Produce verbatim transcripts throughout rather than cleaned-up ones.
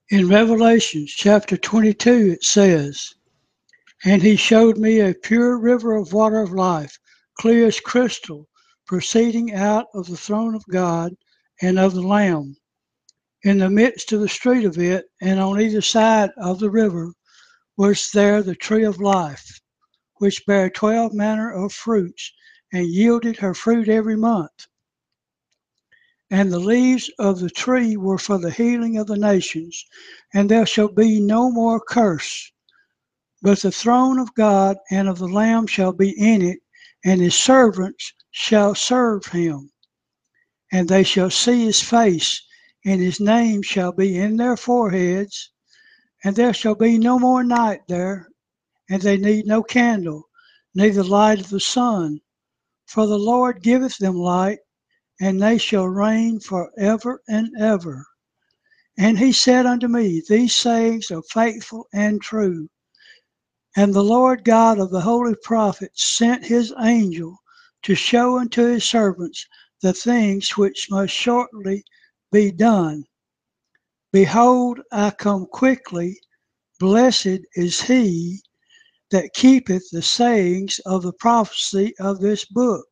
In Revelation chapter twenty-two, it says, "And he showed me a pure river of water of life, clear as crystal, proceeding out of the throne of God and of the Lamb. In the midst of the street of it, and on either side of the river, was there the tree of life, which bare twelve manner of fruits, and yielded her fruit every month. And the leaves of the tree were for the healing of the nations. And there shall be no more curse, but the throne of God and of the Lamb shall be in it, and his servants shall serve him. And they shall see his face, and his name shall be in their foreheads. And there shall be no more night there, and they need no candle, neither light of the sun. For the Lord giveth them light, and they shall reign for ever and ever. And he said unto me, These sayings are faithful and true. And the Lord God of the holy prophets sent his angel to show unto his servants the things which must shortly be done. Behold, I come quickly. Blessed is he that keepeth the sayings of the prophecy of this book."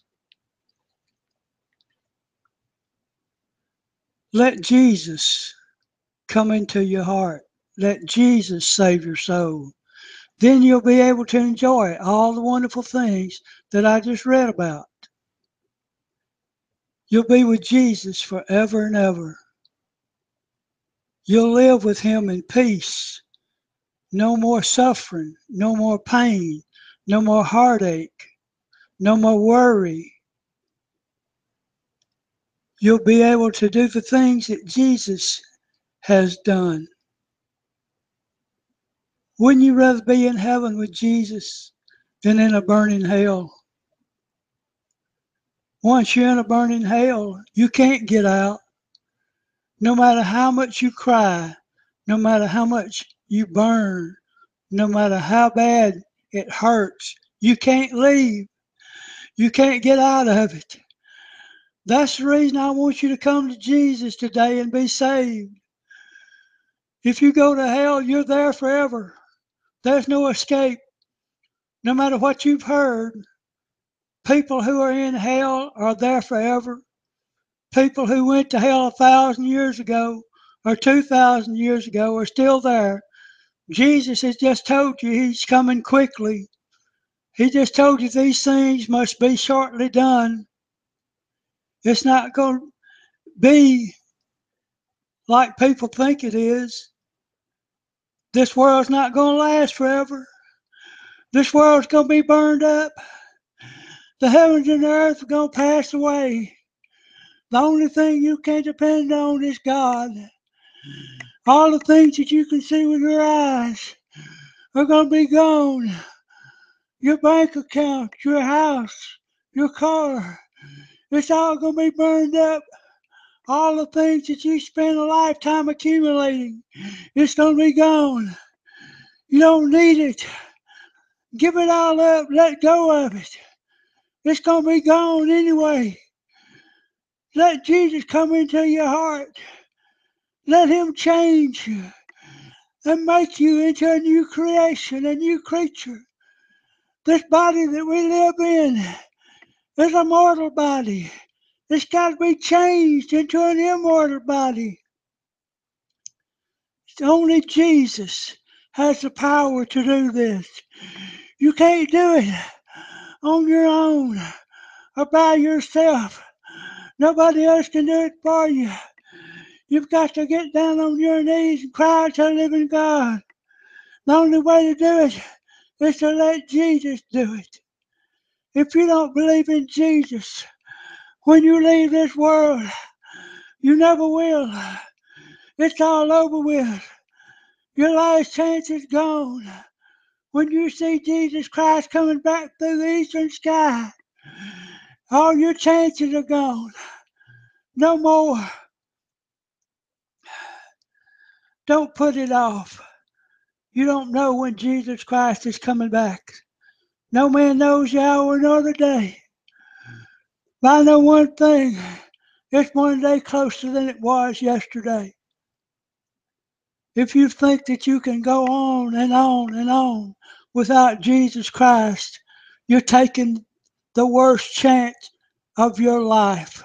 Let Jesus come into your heart. Let Jesus save your soul. Then you'll be able to enjoy all the wonderful things that I just read about. You'll be with Jesus forever and ever. You'll live with him in peace. No more suffering, no more pain, no more heartache, no more worry. You'll be able to do the things that Jesus has done. Wouldn't you rather be in heaven with Jesus than in a burning hell? Once you're in a burning hell, you can't get out. No matter how much you cry, no matter how much you burn, no matter how bad it hurts, you can't leave. You can't get out of it. That's the reason I want you to come to Jesus today and be saved. If you go to hell, you're there forever. There's no escape. No matter what you've heard, people who are in hell are there forever. People who went to hell a thousand years ago or two thousand years ago are still there. Jesus has just told you he's coming quickly. He just told you these things must be shortly done. It's not going to be like people think it is. This world's not going to last forever. This world's going to be burned up. The heavens and the earth are going to pass away. The only thing you can depend on is God. All the things that you can see with your eyes are going to be gone. Your bank account, your house, your car, it's all going to be burned up. All the things that you spend a lifetime accumulating, it's going to be gone. You don't need it. Give it all up. Let go of it. It's going to be gone anyway. Let Jesus come into your heart. Let him change you and make you into a new creation, a new creature. This body that we live in is a mortal body. It's got to be changed into an immortal body. Only Jesus has the power to do this. You can't do it on your own or by yourself. Nobody else can do it for you. You've got to get down on your knees and cry to the living God. The only way to do it is to let Jesus do it. If you don't believe in Jesus, when you leave this world, you never will. It's all over with. Your last chance is gone. When you see Jesus Christ coming back through the eastern sky, all your chances are gone. No more. Don't put it off. You don't know when Jesus Christ is coming back. No man knows the hour nor the day. But I know one thing. It's one day closer than it was yesterday. If you think that you can go on and on and on without Jesus Christ, you're taking the worst chance of your life.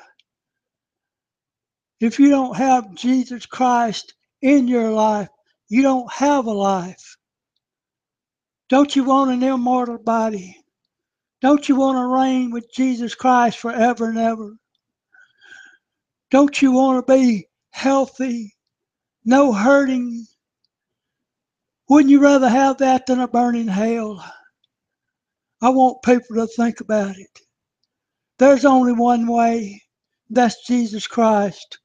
If you don't have Jesus Christ in your life, you don't have a life. Don't you want an immortal body? Don't you want to reign with Jesus Christ forever and ever? Don't you want to be healthy, no hurting? Wouldn't you rather have that than a burning hell? I want people to think about it. There's only one way. That's Jesus Christ.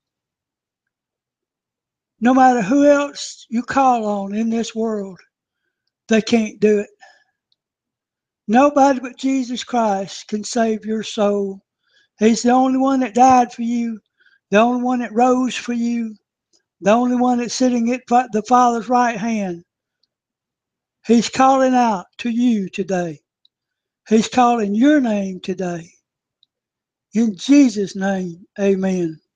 No matter who else you call on in this world, they can't do it. Nobody but Jesus Christ can save your soul. He's the only one that died for you, the only one that rose for you, the only one that's sitting at the Father's right hand. He's calling out to you today. He's calling your name today. In Jesus' name, amen.